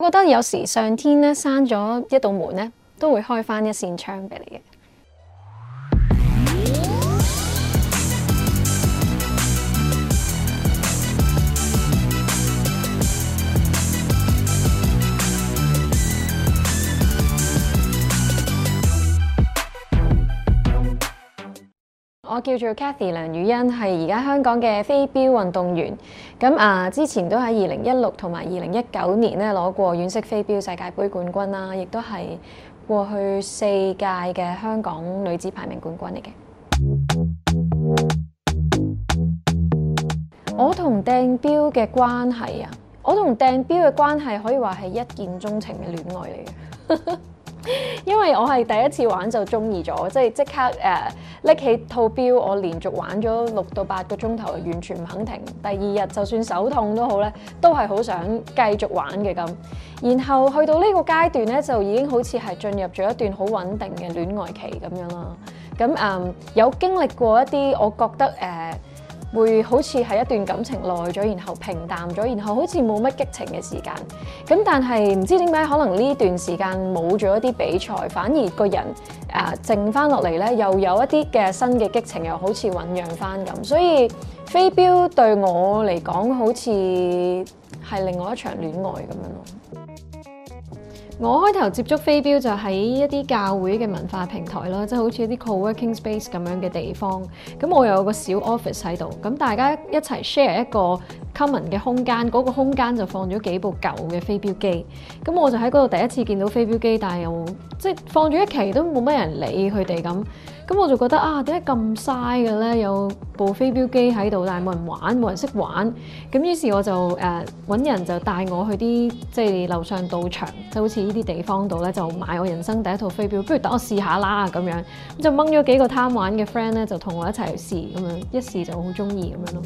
我覺得有時上天咧閂咗一道門咧，都會開返一扇窗俾你嘅。我叫做 Cathy 梁宇欣，係而家香港嘅飛鏢運動員。咁之前都喺2016同埋2019年咧攞過軟式飛鏢世界盃冠軍啦，亦都係過去4屆嘅香港女子排名冠軍嚟嘅。我同掟鏢嘅關係啊，我同掟鏢嘅關係可以話係一見鍾情嘅戀愛嚟嘅。因為我係第一次玩就中意咗，即刻拎起套鏢，我連續玩咗6到8個鐘頭，完全唔肯停。第二日就算手痛都好咧，都係好想繼續玩嘅咁。然後去到呢個階段咧，就已經好似係進入咗一段好穩定嘅戀愛期咁樣啦。咁有經歷過一啲，我覺得會好似係一段感情耐咗，然後平淡咗，然後好似冇乜激情嘅時間。咁但係唔知點解，可能呢段時間冇咗一啲比賽，反而個人靜翻落嚟咧，又有一啲嘅新嘅激情，又好似醖釀翻咁。所以飛鏢對我嚟講，好似係另外一場戀愛咁樣咯。我開頭接觸飛鏢就喺一啲教會嘅文化平台啦，即係好似一啲 co-working space 咁樣嘅地方。咁我有個小 office 喺度，咁大家一齊 share 一個 common 嘅空間，嗰個空間就放咗幾部舊嘅飛鏢機。咁我就喺嗰度第一次見到飛鏢機，但係又即係放咗一期都冇乜人理佢哋咁。咁我就覺得點解咁嘥嘅咧？有部飛鏢機喺度，但係冇人玩，冇人識玩。咁於是我就揾人就帶我去啲即係樓上道場，就好似呢啲地方度咧，就買我人生第一套飛鏢。不如等我試下啦咁樣。咁就掹咗幾個貪玩嘅 friend 咧，就同我一齊去試咁樣，一試就好中意咁樣咯。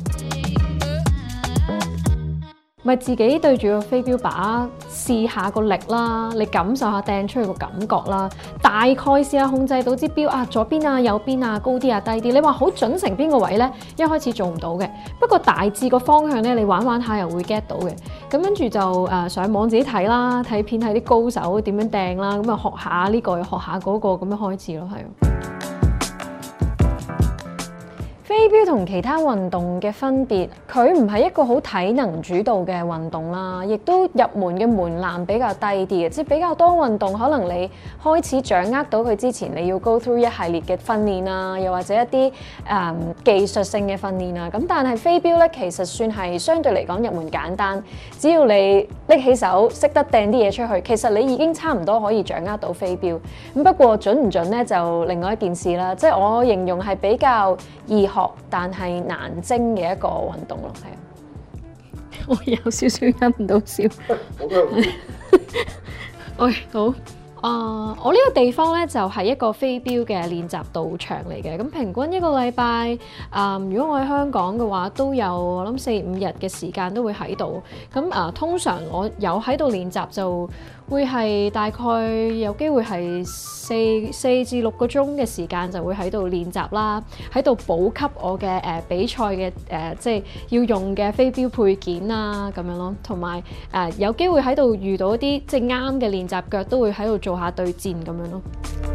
咪自己對住個飛鏢靶試下個力啦，你感受下掟出去個感覺啦，大概試下控制到支鏢左邊啊、右邊啊、高啲啊、低啲。你話好準成邊個位呢？一開始做唔到嘅，不過大致個方向呢，你玩玩下又會 get 到嘅。咁跟住就上網自己睇啦，睇片睇啲高手點樣掟啦，咁啊學下呢個學下嗰個咁樣開始咯，係。飛鏢同其他運動嘅分別，佢唔係一個好體能主導嘅運動啦，亦都入門嘅門檻比較低啲嘅，即係比較多運動可能你開始掌握到佢之前，你要 go through 一系列嘅訓練啊，又或者一啲技術性嘅訓練啊。咁但係飛鏢咧，其實算係相對嚟講入門簡單，只要你拎起手識得掟啲嘢出去，其實你已經差唔多可以掌握到飛鏢。咁不過準唔準咧，就另外一件事啦。即係我形容係比較易學但係難精嘅一個運動咯，係啊！我有少少忍唔到笑。OK， 好。我呢個地方咧就係一個飛鏢嘅練習道場嚟嘅。咁平均一個禮拜，如果我喺香港嘅話，都有我諗4-5日嘅時間都會喺度。咁通常我有喺度練習就會係大概有機會係4至6個鐘嘅時間就會喺度練習啦，喺度補給我嘅比賽嘅即係要用嘅飛鏢配件啊咁樣咯，同埋有機會喺度遇到一啲即係啱嘅練習腳，都會喺度做下對戰咁樣咯。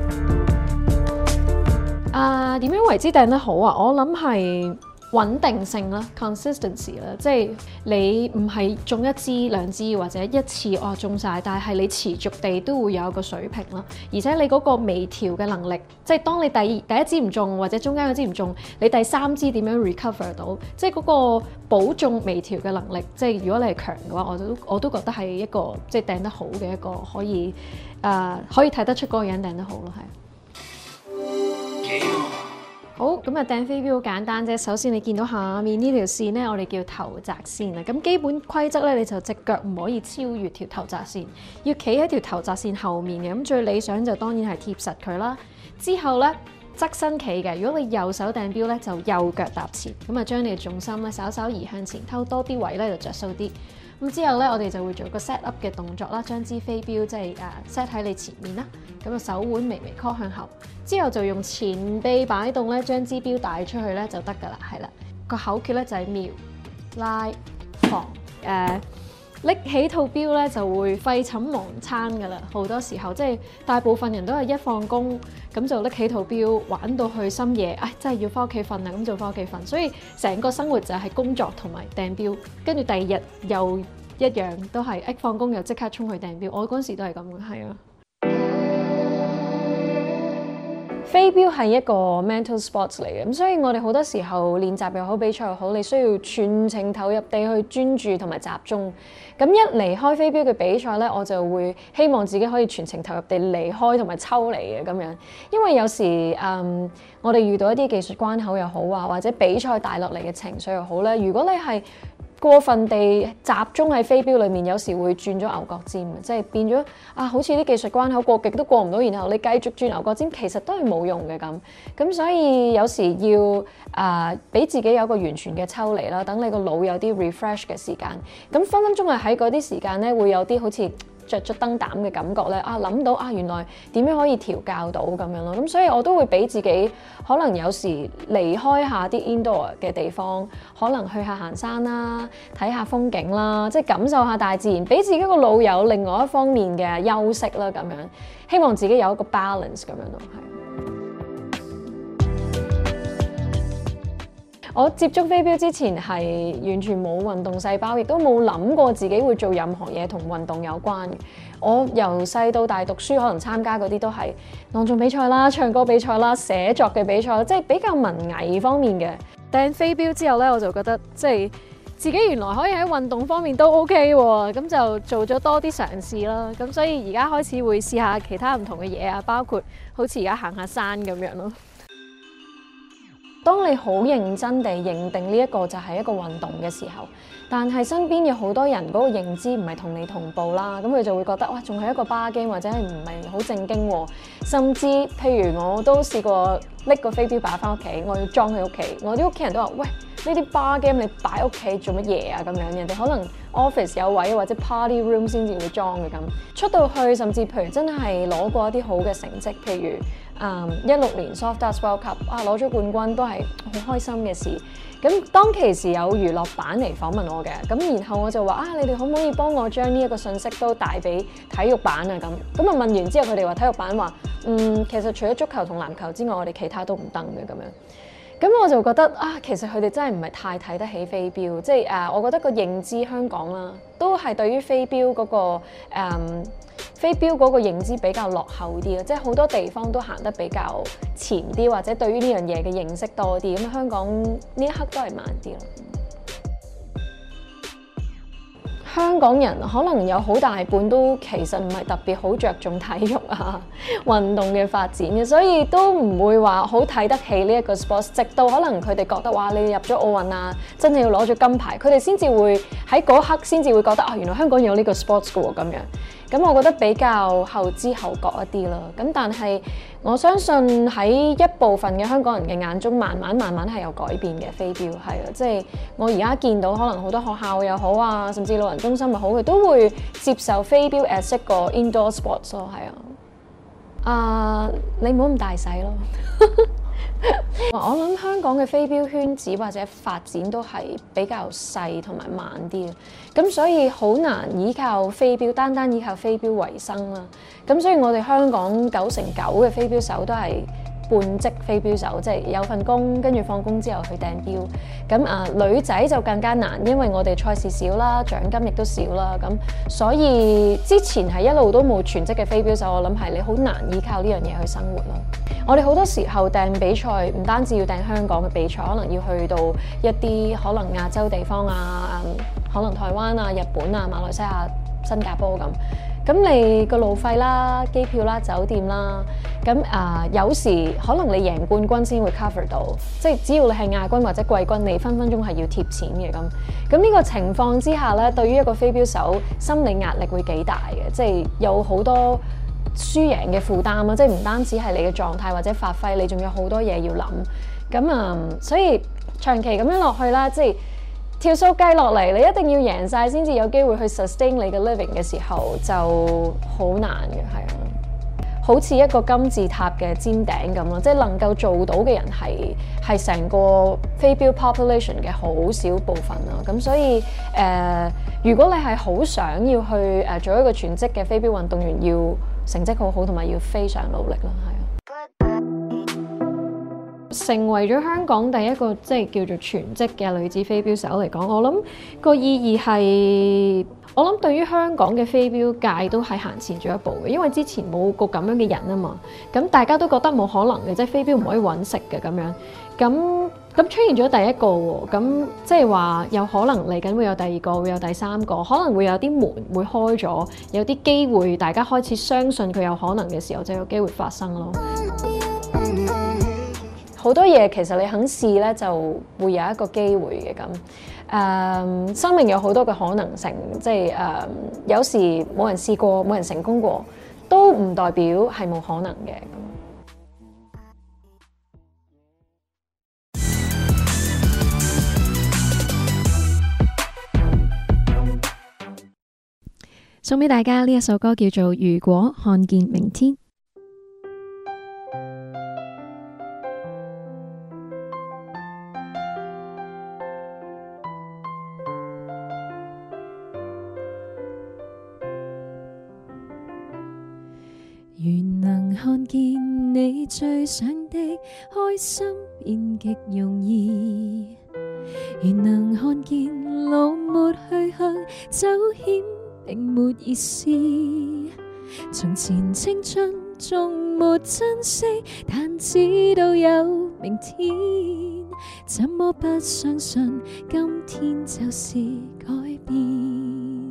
點樣為之掟得好啊？我諗係穩定性啦 ，consistency 啦，即係你唔係中1支2支或者一次中晒，但係你持續地都會有一個水平啦，而且你嗰個微調嘅能力，即係當你第一支唔中或者中間嗰支唔中，你第3支點樣 recover 到，即係嗰個保中微調嘅能力，即係如果你係強嘅話，我都覺得係一個即係掟得好嘅一個可以睇得出嗰個人掟得好咯，係。好，咁啊掟飛鏢好簡單啫。首先你見到下面呢條線咧，我哋叫頭擲線啊。咁基本規則咧，你就隻腳唔可以超越條頭擲線，要企喺條頭擲線後面嘅。咁最理想就當然係貼實佢啦。之後咧側身企嘅，如果你右手掟鏢咧，就右腳踏前，咁啊將你嘅重心咧稍稍移向前，偷多啲位咧就着數啲。咁之後咧，我哋就會做個 set up 嘅動作啦，將支飛鏢即係set 喺你前面啦。咁啊手腕微微 call 向後，之後就用前臂擺動咧，將支鏢帶出去咧就得㗎啦，係啦。個口訣咧就係瞄、拉、防。 拎起套錶咧就會廢寢忘餐㗎啦。好多時候即係大部分人都係一放工咁就拎起套錶玩到去深夜，真係要翻屋企瞓啦，咁就翻屋企瞓。所以成個生活就係工作同埋訂錶，跟住第二日又一樣都係一放工又即刻衝去訂錶。我嗰陣時都係咁嘅，係啊。 飛鏢係一個 mental sports 嚟嘅，咁所以我哋好多時候練習又好，比賽又好，你需要全程投入地去專注同埋集中。咁一離開飛鏢嘅比賽呢，我就會希望自己可以全程投入地離開同埋抽離嘅咁樣，因為有時我哋遇到一啲技術關口又好啊，或者比賽帶落嚟嘅情緒又好咧，如果你係過分地集中喺飛鏢裏面，有時會轉咗牛角尖，即係變咗好似啲技術關口過極都過唔到，然後你繼續轉牛角尖，其實都係冇用嘅咁。咁所以有時要俾自己有個完全嘅抽離啦，等你個腦有啲 refresh 嘅時間。咁分分鐘係喺嗰啲時間咧，會有啲好似着咗燈膽嘅感覺咧，諗到原來點樣可以調教到咁樣咯。咁所以我都會俾自己可能有時離開下啲 indoor 嘅地方，可能去下行山啦，睇下風景啦，即係感受下大自然，俾自己個腦有另外一方面嘅休息啦咁樣。希望自己有一個 balance 咁樣咯，係。我接觸飛鏢之前係完全冇運動細胞，亦都冇諗過自己會做任何嘢同運動有關嘅。我由細到大讀書，可能參加嗰啲都係朗誦比賽啦、唱歌比賽啦、寫作嘅比賽，即係比較文藝方面嘅。 掟飛鏢之後咧，我就覺得即係自己原來可以喺運動方面都 OK 喎，咁就做咗多啲嘗試啦。咁所以而家開始會試下其他唔同嘅嘢啊，包括好似而家行下山咁樣咯。 當你好認真地認定呢一個就係一個運動嘅時候，但係身邊有好多人嗰個認知唔係同你同步啦，咁佢就會覺得仲係一個bar game或者係唔係好正經喎。甚至譬如我都試過拎個飛鏢擺翻屋企，我要裝喺屋企，我啲屋企人都話：喂，呢啲bar game你擺屋企做乜嘢啊？咁樣人哋可能 office 有位或者 party room 先至會裝嘅咁。出到去甚至譬如真係攞過一啲好嘅成績，譬如16年 Soft Darts World Cup 攞咗冠軍都係好開心嘅事。咁當其時有娛樂版嚟訪問我嘅，咁然後我就話你哋可唔可以幫我將呢一個信息都帶俾體育版啊咁問完之後，佢哋話體育版話其實除咗足球同籃球之外，我哋其他都唔得嘅咁樣。咁我就覺得其實佢哋真係唔係太睇得起飛鏢，即係我覺得個認知香港啦，都係對於飛鏢嗰個飛鏢嗰個認知比較落後啲啦，即係好多地方都行得比較前啲，或者對於呢樣嘢嘅認識多啲。咁香港呢一刻都係慢啲咯。香港人可能有好大半都其實唔係特別好着重體育運動嘅發展嘅，所以都唔會話好睇得起呢一個 sports。直到可能佢哋覺得你入咗奧運啊，真係要攞咗金牌，佢哋先至會喺嗰刻先至會覺得原來香港有呢個 sports 嘅喎咁樣。咁我覺得比較後知後覺一啲啦。咁但係我相信喺一部分嘅香港人嘅眼中，慢慢係有改變嘅飛鏢係啊，即係我而家見到可能好多學校又好啊，甚至老人中心又好，佢都會接受飛鏢 as 一個 indoor sports 咯，係啊。你唔好咁大使咯。我諗香港嘅飛鏢圈子或者發展都係比較細同埋慢啲，咁所以好難依靠飛鏢，單依靠飛鏢為生啦。咁所以我哋香港9成9嘅飛鏢手都係半職飛鏢手，即係有份工，跟住放工之後去掟鏢。咁女仔就更加難，因為我哋賽事少啦，獎金亦都少啦。咁所以之前係一路都冇全職嘅飛鏢手，我諗係你好難依靠呢樣嘢去生活啦。我哋好多時候掟比賽，唔單止要掟香港嘅比賽，可能要去到一啲可能亞洲地方啊，可能台灣啊、日本啊、馬來西亞、新加坡咁。咁你個路費啦、機票啦、酒店啦，咁有時可能你贏冠軍先會 cover 到，即係只要你係亞軍或者季軍，你分分鐘係要貼錢嘅咁。咁呢個情況之下咧，對於一個飛鏢手心理壓力會幾大嘅，即係有好多輸贏嘅負擔啊！即係唔單止係你嘅狀態或者發揮，你仲有好多嘢要諗。咁所以長期咁樣落去啦，即係條數計落嚟，你一定要贏晒先至有機會去 sustain 你嘅 living 嘅時候，就好難嘅，係啊。 好似一個金字塔嘅尖頂咁咯，即係能夠做到嘅人係成個飛鏢 population 嘅好少部分啦。咁所以如果你係好想要去做一個全職嘅飛鏢運動員，要成績好好同埋要非常努力啦，係啊。成為咗香港第一個即係叫做全職嘅女子飛鏢手嚟講，我諗個意義係，我諗對於香港嘅飛鏢界都係行前咗一步嘅，因為之前冇個咁樣嘅人啊嘛，咁大家都覺得冇可能嘅，即係飛鏢唔可以揾食嘅咁樣，咁出現咗第一個喎，咁即係話有可能嚟緊會有第二個，會有第三個，可能會有啲門會開咗，有啲機會大家開始相信佢有可能嘅時候，就有機會發生咯。好多嘢其實你肯試咧，就會有一個機會嘅咁。生命有好多嘅可能性，即係有時冇人試過，冇人成功過，都唔代表係冇可能嘅。 送俾大家呢一首歌叫做《如果看見明天》。原能看見你最想的開心變極容易，原能看見路沒去向，走險並沒意思。從前青春仲沒珍惜，但知道有明天，怎麼不相信今天就是改變？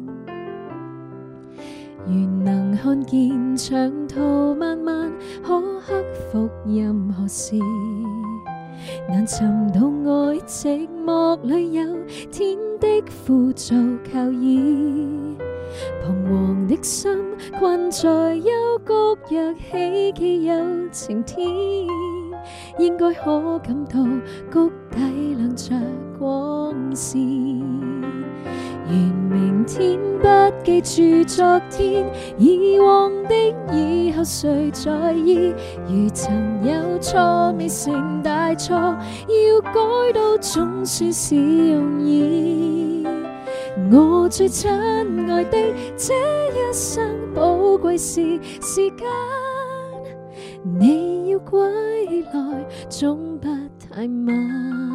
原能看見長途漫漫可克服任何事，難尋到愛寂寞裏有天的輔助靠倚，彷徨的心困在幽谷，若希冀有晴天，應該可感到谷底亮着光線。願明天不記住昨天，以往的以後誰在意？如曾有錯未成大錯，要改到總算是容易。我最親愛的，這一生寶貴是時間，你要歸來總不太晚。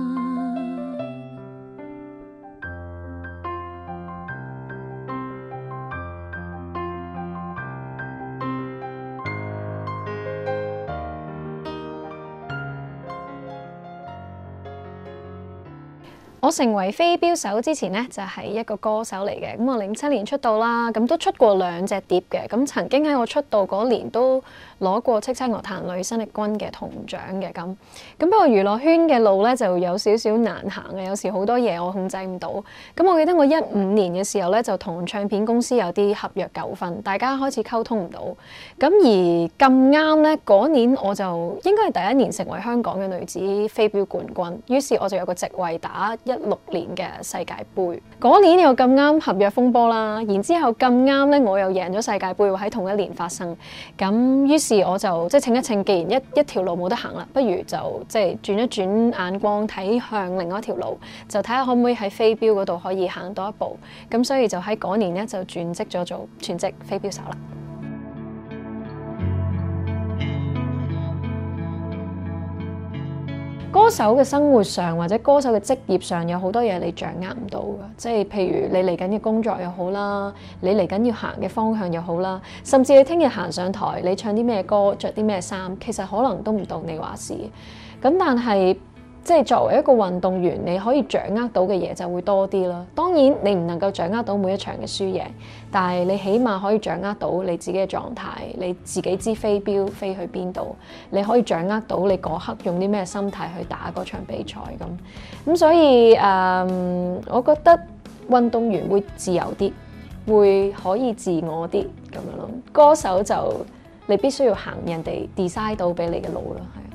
我成為飛鏢手之前呢，就係一個歌手嚟嘅。咁我07年出道啦，咁都出過2隻碟嘅。咁曾經喺我出道嗰年都攞過叱咤樂壇女生力軍嘅銅獎嘅。咁不過娛樂圈嘅路咧就有少少難行嘅，有時好多嘢我控制唔到。咁我記得我15年嘅時候咧，就同唱片公司有啲合約糾紛，大家開始溝通唔到。咁而咁啱咧，嗰年我就應該係第一年成為香港嘅女子飛鏢冠軍，於是我就有個席位打16年嘅世界盃。嗰年又咁啱合約風波啦，然之後咁啱咧我又贏咗世界盃喎，喺同一年發生。咁於是我就即係稱一稱，既然一條路冇得行啦，不如就即係轉一轉眼光，睇向另外一條路，就睇下可唔可以喺飛鏢嗰度可以行多一步。咁所以就喺嗰年咧就轉職咗做全職飛鏢手啦。歌手嘅生活上或者歌手嘅職業上有好多嘢你掌握唔到㗎，即係譬如你嚟緊嘅工作又好啦，你嚟緊要行嘅方向又好啦，甚至你聽日行上台，你唱啲咩歌，着啲咩衫，其實可能都唔到你話事。咁但係即係作為一個運動員，你可以掌握到嘅嘢就會多啲啦。當然你唔能夠掌握到每一場嘅輸贏，但係你起碼可以掌握到你自己嘅狀態，你自己知飛鏢飛去邊度，你可以掌握到你嗰刻用啲咩心態去打嗰場比賽咁。所以我覺得運動員會自由啲，會可以自我啲咁樣咯。歌手就你必須要行人哋 design 到俾你嘅路咯，係。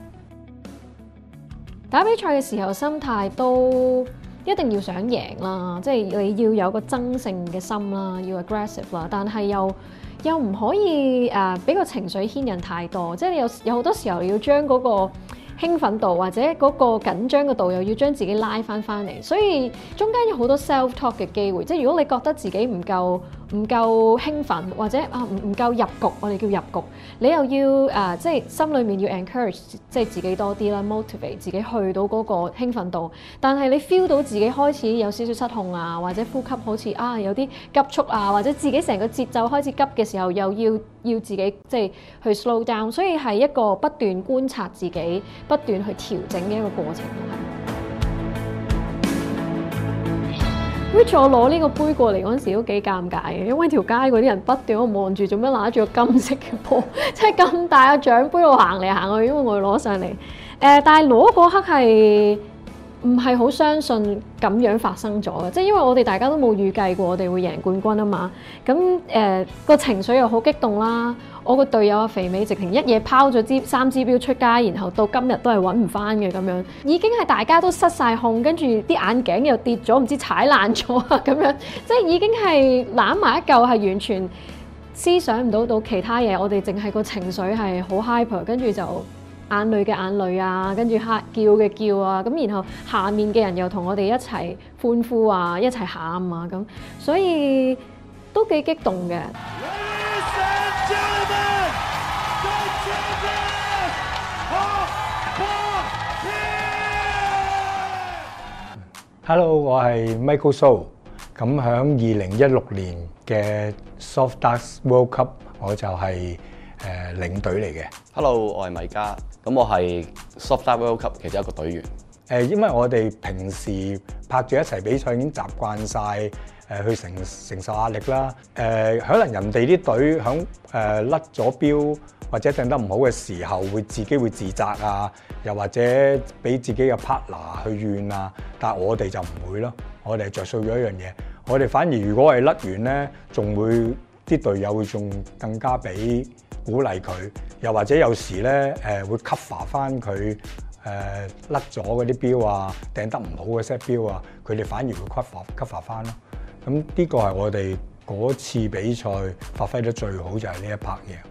打比賽嘅時候，心態都一定要想贏啦，即係你要有個爭勝嘅心啦，要 aggressive 啦，但係又又唔可以俾個情緒牽引太多，即係你有好多時候要將嗰個興奮度或者嗰個緊張嘅度又要將自己拉翻嚟，所以中間有好多 self talk 嘅機會。即係如果你覺得自己唔夠興奮或者唔夠入局，我哋叫入局，你又要即係心裏面要 encourage 即係自己多啲啦 ，motivate 自己去到嗰個興奮度。但係你 feel 到自己開始有少少失控啊，或者呼吸好似有啲急促啊，或者自己成個節奏開始急嘅時候，又要自己即係去 slow down。所以係一個不斷觀察自己，不斷去調整嘅一個過程。which 我攞呢個杯過嚟嗰陣時都幾尷尬嘅，因為條街嗰啲人不斷喺度望住做咩拿住個金色嘅波，即係咁大個獎杯我行嚟行去，因為我要攞上嚟。但係攞嗰刻係唔係好相信咁樣發生咗嘅，即係因為我哋大家都冇預計過我哋會贏冠軍啊嘛。咁個情緒又好激動啦。我個隊友阿肥美直情一嘢拋咗3支標出街，然後到今日都係揾唔翻嘅咁樣，已經係大家都失晒控，跟住啲眼鏡又跌咗，唔知踩爛咗啊咁樣，即係已經係攬埋一嚿，係完全思想唔到其他嘢。我哋淨係個情緒係好 hyper， 跟住就眼淚嘅眼淚啊，跟住叫嘅叫啊，咁然後下面嘅人又同我哋一齊歡呼啊，一齊喊啊咁，所以都幾激動嘅。 Hello， 我係 Michael So。咁響2016年嘅 Soft Darts World Cup， 我就係領隊嚟嘅。 Hello， 我係米嘉。咁我係 Soft Darts World Cup 其中一個隊員。 因為我哋平時拍住一齊比賽已經習慣晒去承受壓力啦。可能人哋啲隊響甩咗標或者掟得唔好嘅時候，自己會自責啊，又或者俾自己嘅 partner 去怨啊。但係我哋就唔會咯，我哋係着數咗一樣嘢。我哋反而如果係甩完咧，仲會啲隊友會仲更加俾鼓勵佢，又或者有時咧會 cover 翻佢甩咗嗰啲標啊，掟得唔好嘅 set 標啊，佢哋反而會 cover 翻咯。咁呢個係我哋嗰次比賽發揮得最好就係呢一 part 嘢。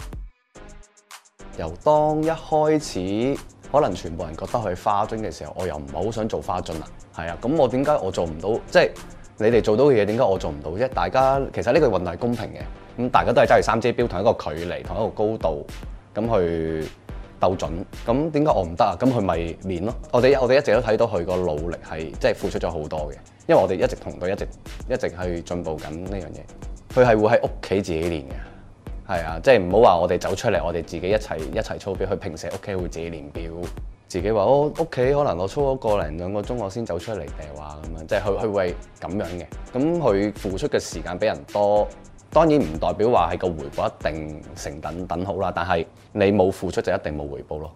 由當一開始，可能全部人覺得佢花樽嘅時候，我又唔係好想做花樽啦。係啊，咁我點解我做唔到？即係你哋做到嘅嘢，點解我做唔到啫？大家其實呢個運動係公平嘅，咁大家都係揸住3支標，同一個距離，同一個高度，咁去鬥準。咁點解我唔得啊？咁佢咪練咯。我哋一直都睇到佢個努力係即係付出咗好多嘅，因為我哋一直同隊一直去進步緊呢樣嘢。佢係會喺屋企自己練嘅。係啊，即係唔好話我哋走出嚟，我哋自己一齊操標。佢平時喺屋企會自己練標，自己話我屋企可能我操咗個零2個鐘，我先走出嚟掉啊咁樣，即係佢會咁樣嘅。咁佢付出嘅時間比人多，當然唔代表話係個回報一定成等好啦。但係你冇付出就一定冇回報咯。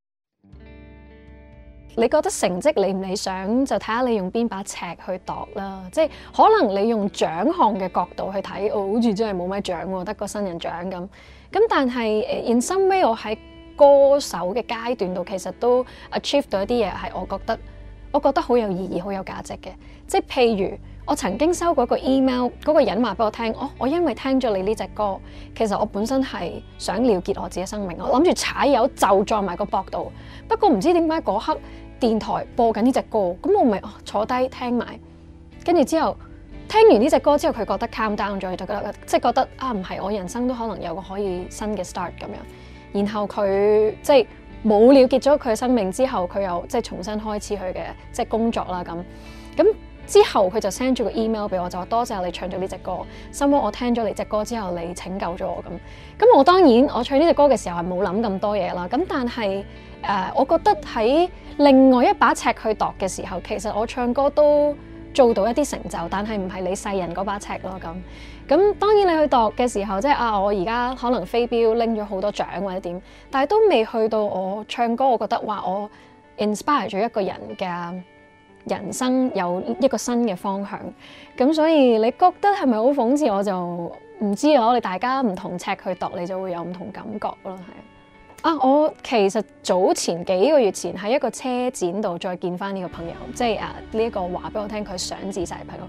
你覺得成績理唔理想，就睇下你用邊把尺去度啦。即係可能你用獎項嘅角度去睇，好似真係冇乜獎喎，得個新人獎咁。咁但係in some way，我喺歌手嘅階段度，其實都 achieve 到一啲嘢，係我覺得好有意義、好有價值嘅。即係譬如我曾經收過一個 email，嗰個人話俾我聽，我因為聽咗你呢隻歌，其實我本身係想了結我自己生命，我諗住踩油就撞埋個膊度。不過唔知點解嗰刻電台播緊呢隻歌，咁我咪坐低聽埋，跟住之後聽完呢隻歌之後，佢覺得 calm down 咗，就覺得唔係，我人生都可能有個可以新嘅 start 咁樣。然後佢即係冇了結咗佢嘅生命之後，佢又即係重新開始佢嘅即係工作啦咁。之後佢就 send 咗個 email 俾我，就話多謝你唱咗呢隻歌，心諗我聽咗你隻歌之後，你拯救咗我咁。咁我當然我唱呢隻歌嘅時候係冇諗咁多嘢啦。咁但係我覺得喺另外一把尺去度嘅時候，其實我唱歌都做到一啲成就，但係唔係你世人嗰把尺咯咁。咁當然你去度嘅時候，即係我而家可能飛鏢拎咗好多獎或者點，但係都未去到我唱歌，我覺得話我 inspire 咗一個人嘅人生有一個新嘅方向。咁所以你覺得係咪好諷刺？我就唔知啊。我哋大家唔同尺去度，你就會有唔同感覺咯，係。我其實早前幾個月前喺一個車展度再見翻呢個朋友，即係呢一個話俾我聽佢想自殺嘅朋友。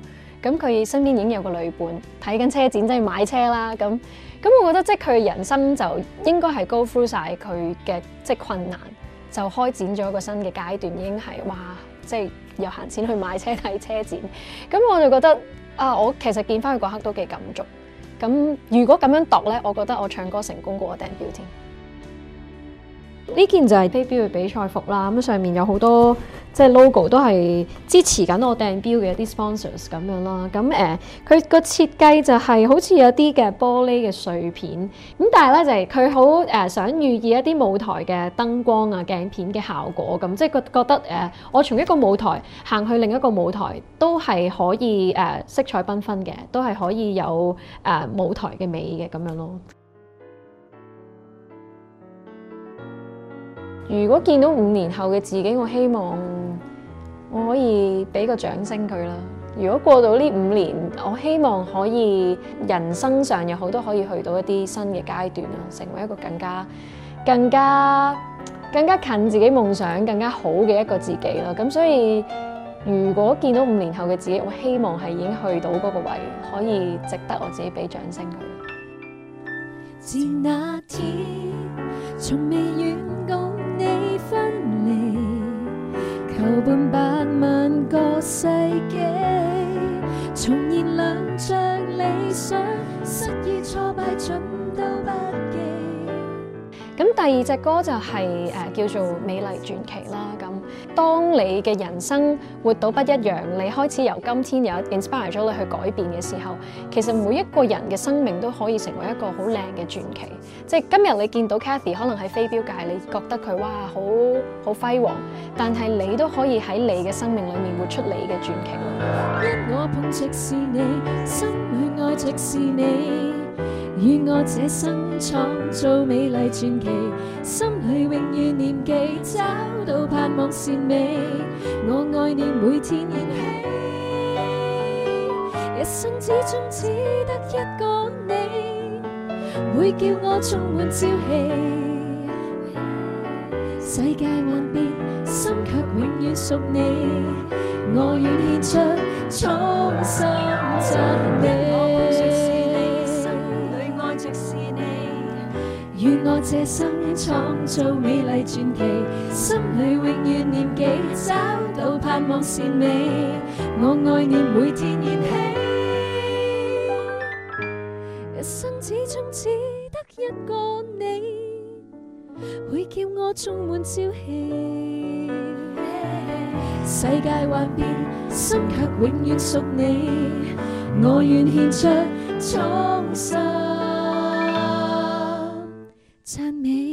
咁佢身邊已經有個女伴睇緊車展，即係買車啦。咁我覺得即係佢嘅人生就應該係 go through 晒佢嘅即係困難，就開展咗一個新嘅階段，已經係哇，即係又閒錢去買車睇車展。咁我就覺得啊，我其實見翻佢嗰刻都幾感觸。咁如果咁樣度咧，我覺得我唱歌成功過我訂表添。 呢件就係飛鏢嘅比賽服啦，咁上面有好多即係 logo 都係支持緊我訂標嘅一啲 sponsors 咁樣啦。咁佢個設計就係好似有啲嘅玻璃嘅碎片，咁但係咧就係佢好想寓意一啲舞台嘅燈光啊、鏡片嘅效果咁，即係覺得我從一個舞台行去另一個舞台都係可以色彩繽紛嘅，都係可以有舞台嘅美嘅咁樣咯。 如果見到5年後嘅自己，我希望我可以俾個掌聲佢啦。如果過到呢5年，我希望可以人生上有好多可以去到一啲新嘅階段啦，成為一個更加近自己夢想、更加好嘅一個自己啦。咁所以，如果見到5年後嘅自己，我希望係已經去到嗰個位，可以值得我自己俾掌聲佢。 自那天，從未遠共你分離，求伴8萬個世紀，重燃亮着理想，失意挫敗盡都不記。 咁第二隻歌就係叫做《美麗傳奇》啦。咁當你嘅人生活到不一樣，你開始由今天有 inspire 咗你去改變嘅時候，其實每一個人嘅生命都可以成為一個好靚嘅傳奇。即係今日你見到 Cathy 可能喺飛鏢界，你覺得佢哇好輝煌，但係你都可以喺你嘅生命裡面活出你嘅傳奇咯。 因我碰直是你，心裏愛直是你，與我這生創造美麗傳奇，心裏永遠念記，找到盼望善美，我愛念每天燃起，一生之中只得一個你，會叫我充滿朝氣。世界幻變，心卻永遠屬你，我願獻出衷心讚美。願我這生創造美麗傳奇，心裏永遠念記，找到盼望善美，我愛念每天燃起，一生之中只得一個你，會叫我充滿朝氣。世界幻變，心卻永遠屬你，我願獻出衷心讚美。